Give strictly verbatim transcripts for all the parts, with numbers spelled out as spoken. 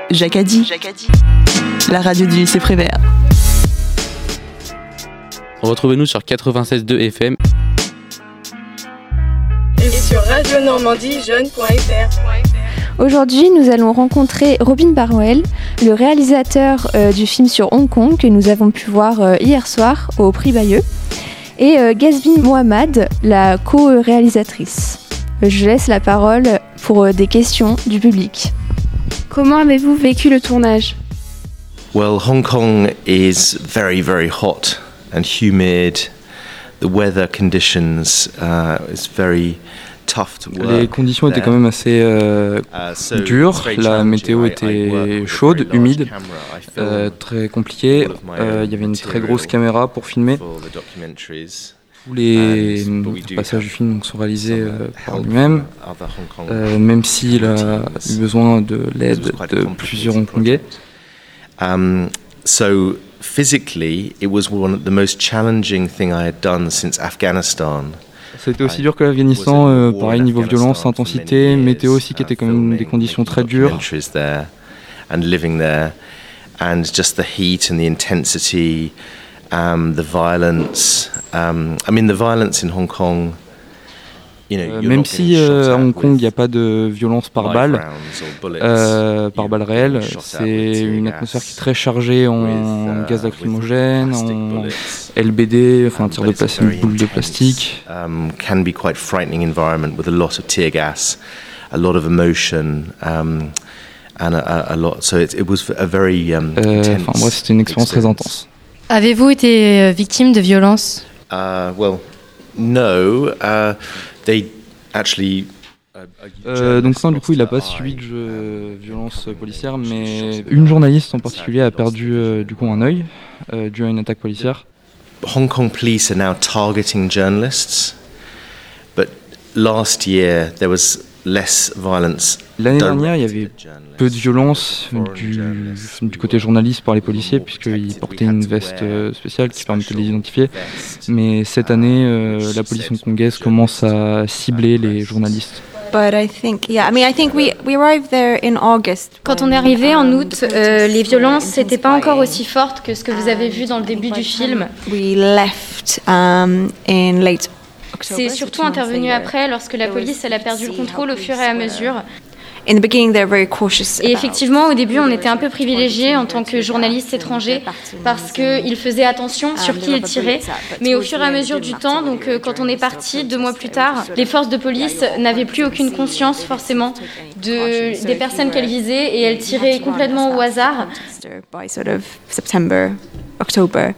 Jacadi, la radio du lycée Prévert. Retrouvez-nous sur quatre-vingt-seize virgule deux F M et sur radio normandie jeune point f r. Aujourd'hui, nous allons rencontrer Robin Barwell, le réalisateur euh, du film sur Hong Kong que nous avons pu voir euh, hier soir au Prix Bayeux, et euh, Gazvin Mohamed, la co-réalisatrice. Je laisse la parole pour euh, des questions du public. Comment avez-vous vécu le tournage? Well, Hong Kong is very, very hot and humid. The weather conditions uh, is very tough to work. Les conditions étaient quand même assez euh, dures. La météo était chaude, humide, euh, très compliquée. Euh, il y avait une très grosse caméra pour filmer. Tous les passages du film sont réalisés euh, par lui-même, euh, même s'il a eu besoin de l'aide de plusieurs Hongkongais. Um, so physically, it was one of the most challenging thing I had done since Afghanistan. C'était aussi dur que l'Afghanistan, euh, pareil niveau violence, intensité, météo aussi qui était quand même des conditions très dures. And living there, and just the heat and the intensity. Um, the violence. Um, I mean, the violence in Hong Kong. You know, euh, même si euh, à Hong Kong il n'y a pas de violence par balle, euh, par balle réelle, c'est une atmosphère qui est très chargée en gaz lacrymogène, en L B D, enfin tir de plastique, boule de plastique. Um, can be quite frightening environment with a lot of tear gas, a lot of emotion. Um, and a, a lot. So it, it was a very um, euh, enfin bref, c'était une expérience très intense. Avez-vous été victime de violence? Uh, well, no. Uh, they actually. Euh, donc non, du coup, il n'a pas subi de jeu, violence policière, mais une journaliste en particulier a perdu euh, du coup un œil euh, dû à une attaque policière. Hong Kong police are now targeting journalists, but last year there was less violence. L'année dernière, il y avait peu de violence du, du côté journaliste par les policiers, puisqu'ils portaient une veste spéciale qui permettait de les identifier. Mais cette année, euh, la police hongkongaise commence à cibler les journalistes. But I think, yeah, I mean, I think we we arrived there in August. Quand on est arrivé en août, euh, les violences n'étaient pas encore aussi fortes que ce que vous avez vu dans le début du film. We left um, in late. C'est surtout intervenu après, lorsque la police elle a perdu le contrôle au fur et à mesure. In the beginning, they're very cautious. Et effectivement, au début, on était un peu privilégiés en tant que journalistes étrangers parce qu'ils faisaient attention sur qui ils tiraient. Mais au fur et à mesure du temps, donc quand on est parti deux mois plus tard, les forces de police n'avaient plus aucune conscience forcément de, des personnes qu'elles visaient et elles tiraient complètement au hasard. By sort of September, October.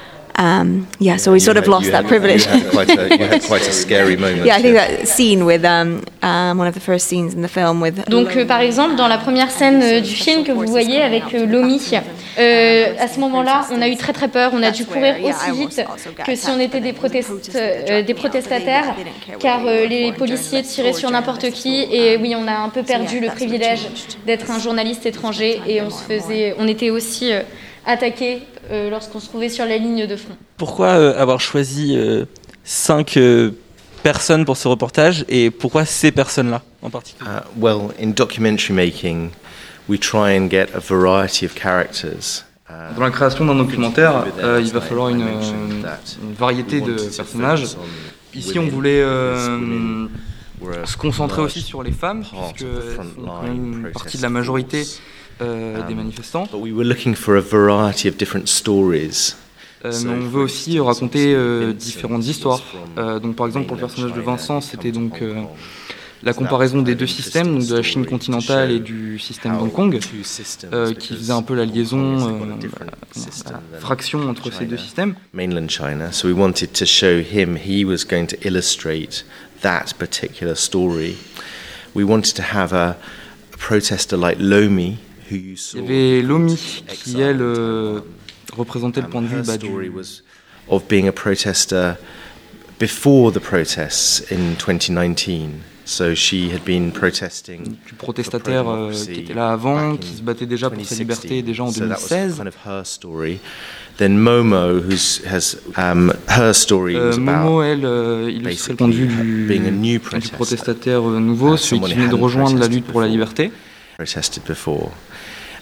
Um, yeah, so we sort of lost that privilege. You had quite a, you had quite a scary moment. Yeah, I think that scene with um, um, one of the first scenes in the film with. Donc, euh, par exemple, dans la première scène euh, du film que vous voyez avec euh, Lomi, euh, à ce moment-là, on a eu très très peur. On a dû courir aussi vite que si on était des, protest- euh, des protestataires, car euh, les policiers tiraient sur n'importe qui. Et oui, on a un peu perdu le privilège d'être un journaliste étranger et on se faisait, on était aussi euh, attaqués Euh, lorsqu'on se trouvait sur la ligne de front. Pourquoi euh, avoir choisi euh, cinq euh, personnes pour ce reportage et pourquoi ces personnes-là en particulier? Uh, well, in documentary making, we try and get a variety of characters. Uh, Dans la création d'un documentaire, euh, il va falloir une, une variété de personnages. Ici, on voulait euh, se concentrer aussi sur les femmes, puisque elles sont quand même une partie de la majorité Euh, des manifestants. But we were looking for a variety of different stories. Euh, mais on veut aussi raconter euh, différentes histoires. Euh, donc par exemple pour le personnage de Vincent, c'était donc euh, la comparaison des deux systèmes, donc de la Chine continentale et du système d'Hong Kong, euh, qui faisait un peu la liaison, euh, la, la fraction entre ces deux systèmes. Mainland China. So we wanted to show him. He was going to illustrate that particular story. We wanted to have a, a protester like Lomi. Il y avait Lomi qui, elle, euh, représentait le point de vue bah, du... of being a protester before the protests in twenty nineteen. So she had been protesting. Du protestataire euh, qui était là avant, qui se battait déjà pour sa liberté déjà en deux mille seize. So that was kind of her story. Then Momo, who has um, her story was euh, Momo, elle, euh, illustrait le point de vue du, du protestataire nouveau, celui qui venait de rejoindre la lutte pour la liberté. Protested before.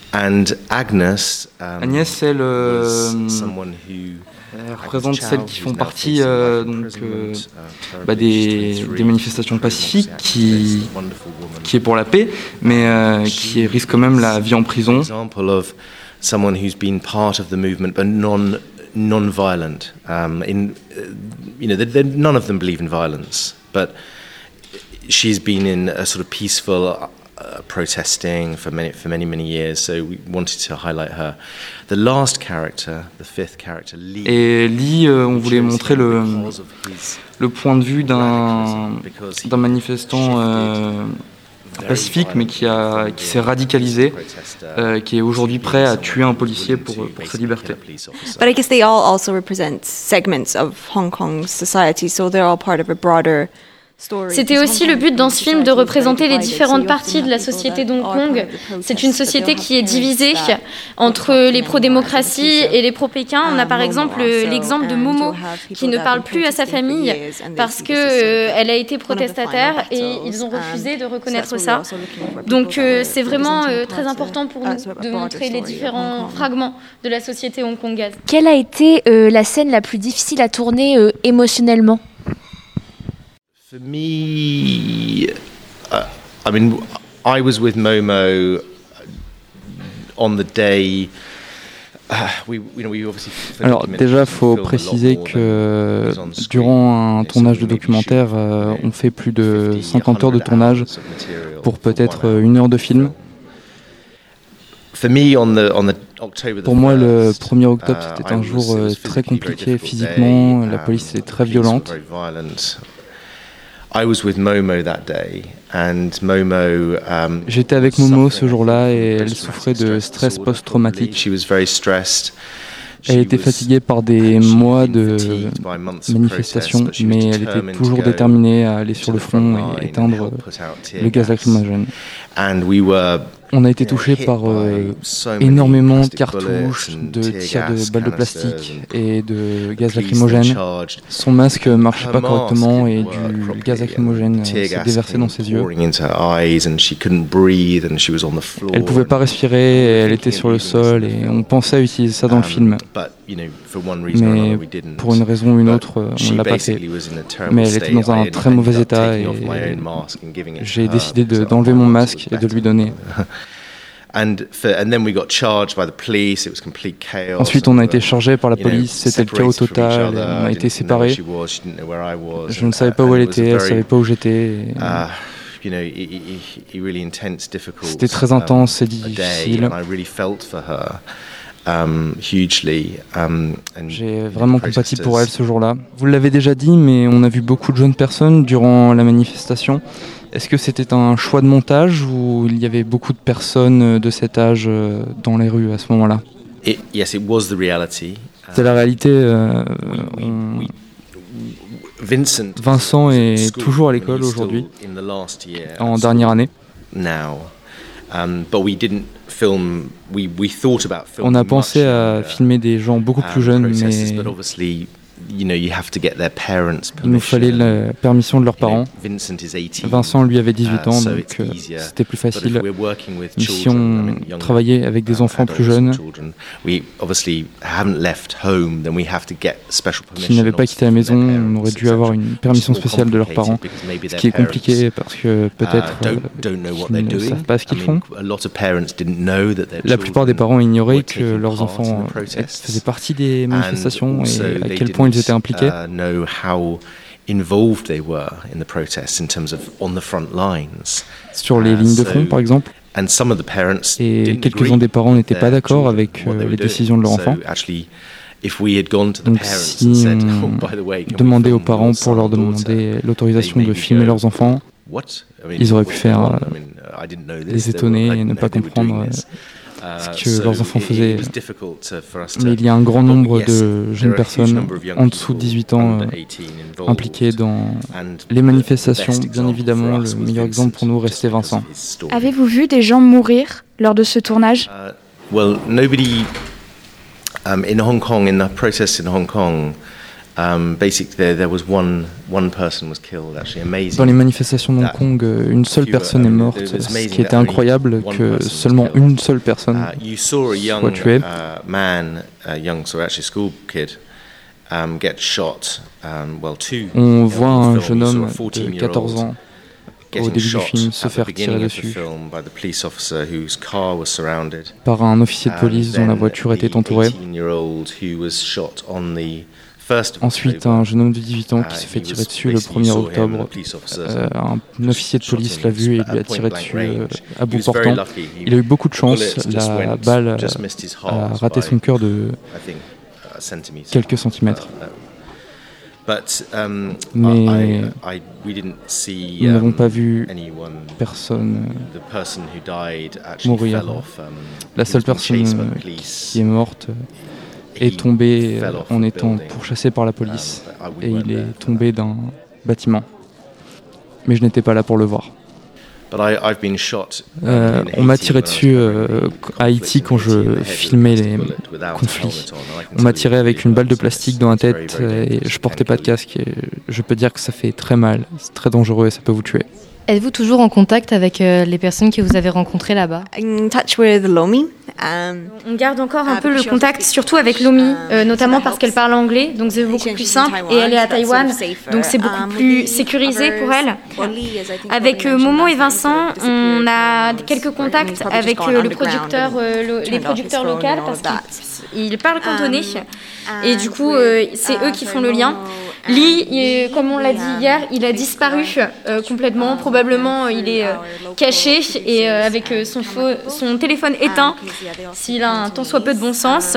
And Agnes, um, Agnès, elle, euh, elle représente celles qui font partie euh, donc, euh, bah des, des manifestations pacifiques, qui, qui est pour la paix, mais euh, qui risque quand même la vie en prison. Someone who's been part of the movement but non non-violent. Um, in uh, you know, they're, they're, none of them believe in violence, but she's been in a sort of peaceful uh, protesting for many for many many years. So we wanted to highlight her. The last character, the fifth character, Lee. Et Lee, euh, on voulait montrer le le point de vue d'un d'un manifestant. Euh, pacifique, mais qui, a, qui s'est radicalisé, euh, qui est aujourd'hui prêt à tuer un policier pour, pour sa liberté. But I guess they all also represent segments of Hong Kong society, so they're all part of a broader. C'était aussi le but dans ce film de représenter les différentes parties de la société d'Hong Kong. C'est une société qui est divisée entre les pro-démocratie et les pro-Pékin. On a par exemple l'exemple de Momo qui ne parle plus à sa famille parce qu'elle euh, a été protestataire et ils ont refusé de reconnaître ça. Donc euh, c'est vraiment euh, très important pour nous de montrer les différents fragments de la société hongkongaise. Quelle a été euh, la scène la plus difficile à tourner euh, émotionnellement ? For me, uh, I mean, I was with Momo on the day. Uh, we, you know, we obviously Alors déjà, il faut préciser que durant un tournage de documentaire, euh, on fait plus de cinquante heures de tournage pour peut-être une heure de film. Pour moi, le premier octobre, c'était un jour euh, très compliqué physiquement. La police est très violente. I was with Momo that day, and Momo, um, J'étais avec Momo ce jour-là et elle souffrait de stress post-traumatique. She was very stressed. Elle était fatiguée par des mois de manifestations, mais elle était toujours déterminée à aller sur le front et éteindre le gaz lacrymogène. On a été touché par euh, énormément de cartouches, de tirs de balles de plastique et de gaz lacrymogène. Son masque ne marchait pas correctement et du gaz lacrymogène s'est déversé dans ses yeux. Elle ne pouvait pas respirer, et elle était sur le sol et on pensait utiliser ça dans le film. Mais pour une raison ou une autre, on ne l'a pas fait. Mais elle était dans un très mauvais état et j'ai décidé de, d'enlever mon masque et de lui donner. Ensuite, on a été chargé par la police, c'était le chaos total, on a été séparés. Je ne savais pas où elle était, elle ne savait pas où j'étais. C'était très intense et difficile. Um, hugely, um, J'ai vraiment compati pour elle ce jour-là. Vous l'avez déjà dit, mais on a vu beaucoup de jeunes personnes durant la manifestation. Est-ce que c'était un choix de montage ou il y avait beaucoup de personnes de cet âge dans les rues à ce moment-là ? It, yes, it was the reality. C'est la réalité. Euh, on... Vincent, Vincent est toujours à l'école aujourd'hui, en dernière année. Now. Um, but we didn't film, we, we thought about On a pensé à filmer des gens beaucoup plus jeunes, mais you know, you have to get their parents' il nous fallait la permission de leurs parents. Vincent, lui, avait dix-huit ans, donc euh, c'était plus facile. Mais si on travaillait avec des enfants plus jeunes qui n'avaient pas quitté la maison, on aurait dû avoir une permission spéciale de leurs parents, ce qui est compliqué parce que peut-être euh, qu'ils ne savent pas ce qu'ils font. La plupart des parents ignoraient que leurs enfants faisaient partie des manifestations et à quel point ils étaient impliqués. Sur les lignes de front, par exemple. Et quelques-uns des parents n'étaient pas d'accord avec euh, les décisions de leur enfant. Donc si on demandait aux parents pour leur demander l'autorisation de filmer leurs enfants, ils auraient pu faire euh, les étonner et ne pas comprendre euh, ce que leurs enfants faisaient. Mais il y a un grand nombre de jeunes personnes en dessous de dix-huit ans euh, impliquées dans les manifestations. Bien évidemment, le meilleur exemple pour nous restait Vincent. Avez-vous vu des gens mourir lors de ce tournage ? uh, Well, nobody um, in Hong Kong, in the protests in Hong Kong, Um, basically, there, there was one, one person was killed, actually, amazing. Dans les manifestations de Hong Kong, une seule personne est morte, ce qui était incroyable que seulement une seule personne uh, soit tuée. Uh, man, a young, so actually school kid, um, get shot. Um, well, two. On voit un jeune homme de quatorze ans au début du film se faire tirer dessus par un officier de police dont la voiture était entourée. Ensuite, un jeune homme de dix-huit ans qui se fait tirer dessus le premier octobre. Euh, un officier de police l'a vu et lui a tiré dessus euh, à bout portant. Il a eu beaucoup de chance, la balle a raté son cœur de quelques centimètres. Mais nous n'avons pas vu personne mourir. La seule personne qui est morte est tombé en étant pourchassé par la police et il est tombé d'un bâtiment. Mais je n'étais pas là pour le voir. Euh, on m'a tiré dessus euh, à Haïti quand je filmais les conflits. On m'a tiré avec une balle de plastique dans la tête et je portais pas de casque. Et je peux dire que ça fait très mal, c'est très dangereux et ça peut vous tuer. Êtes-vous toujours en contact avec euh, les personnes que vous avez rencontrées là-bas? In touch with Lomi. Um, On garde encore un peu le contact, surtout avec Lomi, euh, notamment parce qu'elle parle anglais, donc c'est beaucoup plus simple, et elle est à Taïwan, donc c'est beaucoup plus sécurisé pour elle. Avec euh, Momo et Vincent, on a quelques contacts avec euh, le producteur, euh, le, les producteurs locaux, parce qu'ils parlent cantonais, et du coup, euh, c'est eux qui font le lien. Lee, il, comme on l'a dit hier, il a disparu euh, complètement. Probablement, il est euh, caché et euh, avec euh, son, faux, son téléphone éteint, s'il a un tant soit peu de bon sens.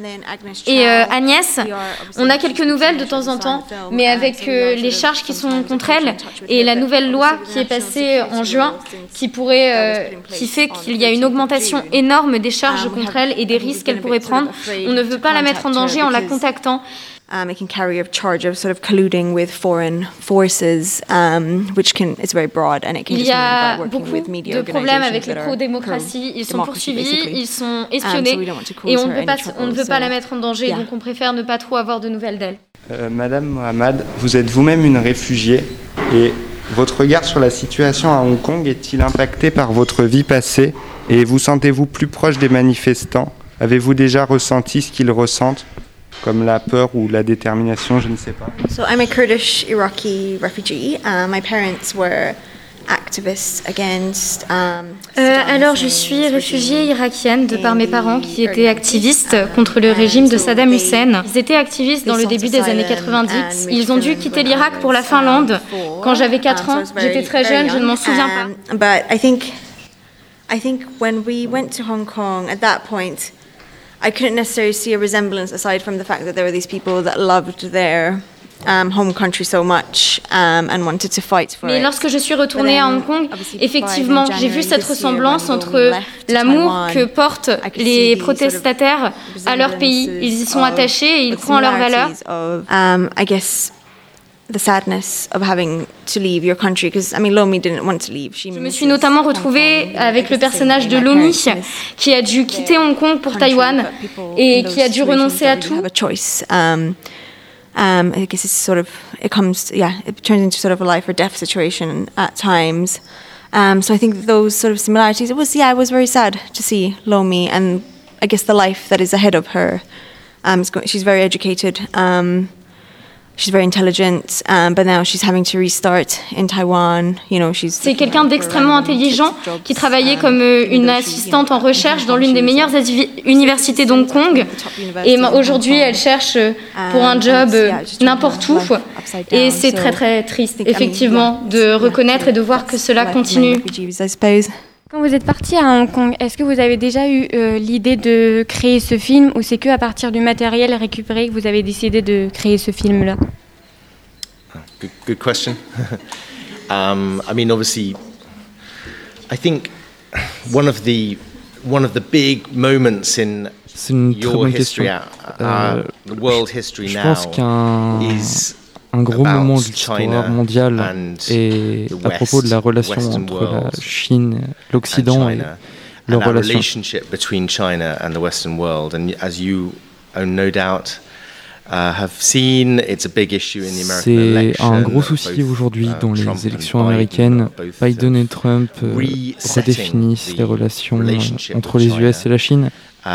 Et euh, Agnès, on a quelques nouvelles de temps en temps, mais avec euh, les charges qui sont contre elle et la nouvelle loi qui est passée en juin, qui pourrait, euh, qui fait qu'il y a une augmentation énorme des charges contre elle et des risques qu'elle pourrait prendre. On ne veut pas la mettre en danger en la contactant. Um, it can carry a charge of sort of colluding with foreign forces, um, which can it's very broad and it can. Il y a beaucoup de problèmes avec les pro-démocratie. Ils sont poursuivis, ils sont espionnés, um, so et on ne peut pas, on ne veut pas la mettre en danger, yeah. Donc on préfère ne pas trop avoir de nouvelles d'elle. Euh, Madame Mohamed, vous êtes vous-même une réfugiée et votre regard sur la situation à Hong Kong est-il impacté par votre vie passée et vous sentez-vous plus proche des manifestants? Avez-vous déjà ressenti ce qu'ils ressentent? Comme la peur ou la détermination, je ne sais pas. So I'm a Kurdish Iraqi refugee. Uh, my parents were activists against. Um, euh, alors je suis réfugiée irakienne de par mes parents qui étaient activistes contre le régime de Saddam Hussein. Ils étaient activistes dans le début des années quatre-vingt-dix. Ils ont dû quitter l'Irak pour la Finlande quand j'avais quatre ans. J'étais très jeune, je ne m'en souviens pas. But I think, I think when we went to Hong Kong at that point. I couldn't necessarily see a resemblance aside from the fact that there were these people that loved their um, home country so much um, and wanted to fight for it. Mais lorsque je suis retournée à Hong Kong, effectivement, j'ai vu cette ressemblance entre l'amour que portent les protestataires à leur pays. Ils y sont attachés et ils croient en leurs valeurs. Um, I guess the sadness of having to leave your country, because I mean Lomi didn't want to leave. Je me suis notamment retrouvée avec le personnage de Lomi qui a dû quitter Hong Kong pour Taïwan et qui a dû renoncer à tout. Um, um, I guess it's sort of it comes yeah it turns into sort of a life or death situation at times. Um, so I think those sort of similarities. It was yeah it was very sad to see Lomi and I guess the life that is ahead of her. Um, she's very educated. Um, She's very intelligent, um, but now she's having to restart in Taiwan. You know, she's. C'est quelqu'un d'extrêmement intelligent qui travaillait comme une assistante en recherche dans l'une des meilleures universités d'Hong Kong. Et aujourd'hui, elle cherche pour un job n'importe où. Et c'est très très triste, effectivement, de reconnaître et de voir que cela continue. Quand vous êtes parti à Hong Kong, est-ce que vous avez déjà eu euh, l'idée de créer ce film ou c'est que à partir du matériel récupéré que vous avez décidé de créer ce film-là? Good, good question. um, I mean, obviously, I think one of the one of the big moments in your history, uh, uh, the world history now, is. Un gros moment de l'histoire mondiale et à propos de la relation entre la Chine, l'Occident et leur relation. Between China and the Western world, and as you own no doubt, C'est un gros souci aujourd'hui dans les élections américaines. Biden et Trump euh, redéfinissent les relations entre les U S et la Chine.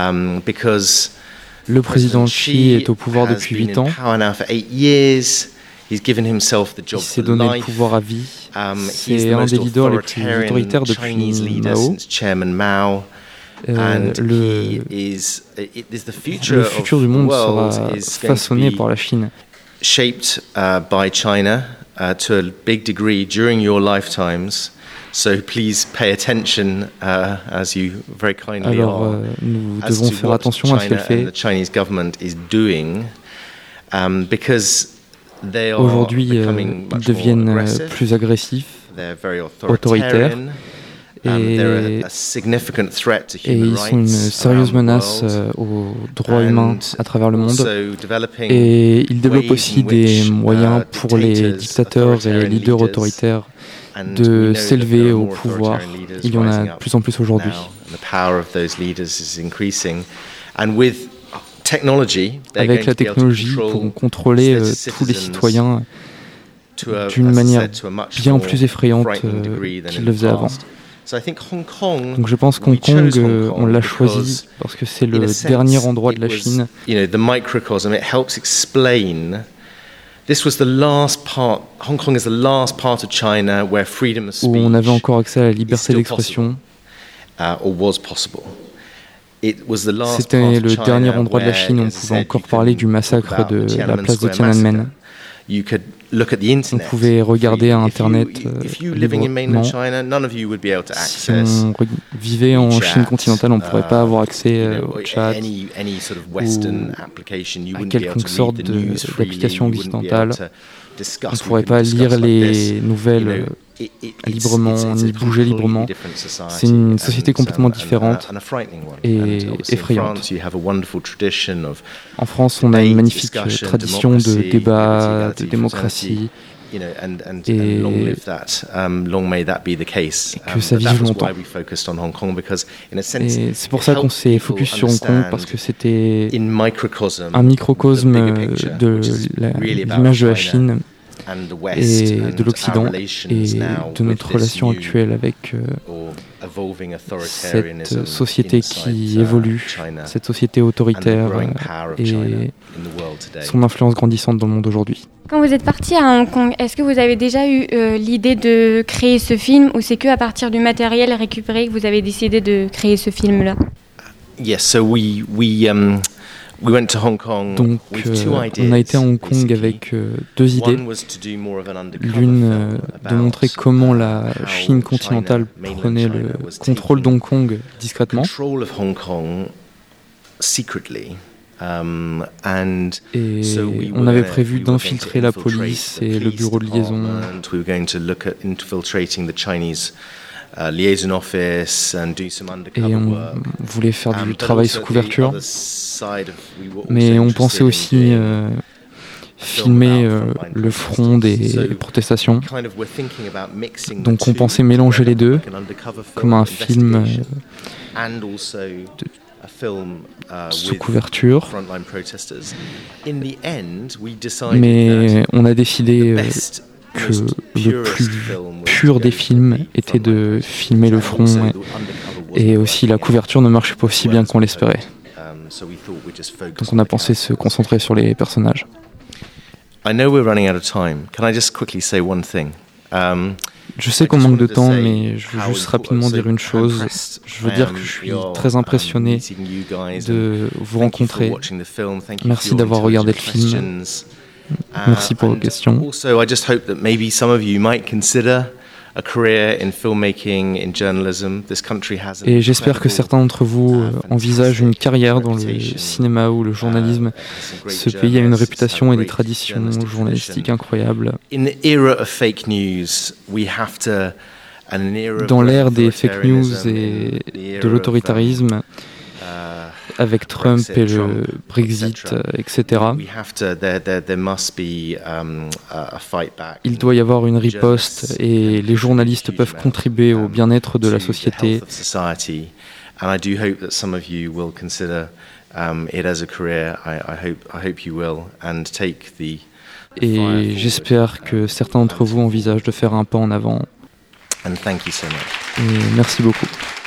Le président Xi est au pouvoir depuis huit ans. Il s'est donné le pouvoir à vie. C'est un des leaders les plus autoritaires depuis Mao. Euh, le, le futur du monde sera façonné par la Chine. Shaped uh, by China uh, to a big degree during your lifetimes. So please pay attention uh, as you very kindly Alors, are. Euh, nous devons faire attention à ce qu'elle fait. The Chinese government is doing, um, because they are Aujourd'hui, euh, ils deviennent plus agressifs, autoritaires. Et, et ils sont une sérieuse menace euh, aux droits humains à travers le monde. Et ils développent aussi des moyens pour les dictateurs et les leaders autoritaires de s'élever au pouvoir. Il y en a de plus en plus aujourd'hui. Avec la technologie, ils pourront contrôler euh, tous les citoyens d'une manière bien plus effrayante euh, qu'ils le faisaient avant. Donc je pense qu'Hong Kong, euh, on l'a choisi parce que c'est le dernier endroit de la Chine où on avait encore accès à la liberté d'expression. C'était le dernier endroit de la Chine où on pouvait encore parler du massacre de la place de Tiananmen. On pouvait regarder à Internet euh, librement. Si on vivait en Chine continentale, on ne pourrait pas avoir accès euh, au chat ou à quelconque sorte d'application occidentale. On ne pourrait pas lire les nouvelles librement, ni bouger librement. C'est une société complètement différente et effrayante. En France, on a une magnifique tradition de débat, de démocratie, et que ça vive longtemps. Et c'est pour ça qu'on s'est focus sur Hong Kong, parce que c'était un microcosme de l'image de la Chine et de l'Occident et de notre relation actuelle avec euh, cette société qui évolue, cette société autoritaire euh, et son influence grandissante dans le monde aujourd'hui. Quand vous êtes parti à Hong Kong, est-ce que vous avez déjà eu euh, l'idée de créer ce film, ou c'est que à partir du matériel récupéré que vous avez décidé de créer ce film-là? Yes, so we we um Donc, euh, on a été à Hong Kong avec euh, deux idées. L'une, euh, de montrer comment la Chine continentale prenait le contrôle d'Hong Kong discrètement. Et on avait prévu d'infiltrer la police et le bureau de liaison. Et on voulait faire du travail sous couverture, mais on pensait aussi euh, filmer euh, le front des protestations. Donc on pensait mélanger les deux, comme un film euh, de, sous couverture. Mais on a décidé euh, que le plus pur des films était de filmer le front, et, et aussi la couverture ne marchait pas aussi bien qu'on l'espérait. Donc on a pensé se concentrer sur les personnages. Je sais qu'on manque de temps, mais je veux juste rapidement dire une chose. Je veux dire que je suis très impressionné de vous rencontrer. Merci d'avoir regardé le film. Merci pour vos questions. Et j'espère que certains d'entre vous euh, envisagent une carrière dans le cinéma ou le journalisme. Ce pays a une réputation et des traditions journalistiques incroyables. Dans l'ère des fake news et de l'autoritarisme, avec Trump et le Brexit, et cetera, il doit y avoir une riposte, et les journalistes peuvent contribuer au bien-être de la société. um, it as a career. I, I hope I hope you will and take the. Et j'espère que certains d'entre vous envisagent de faire un pas en avant. And thank you so much. Et merci beaucoup.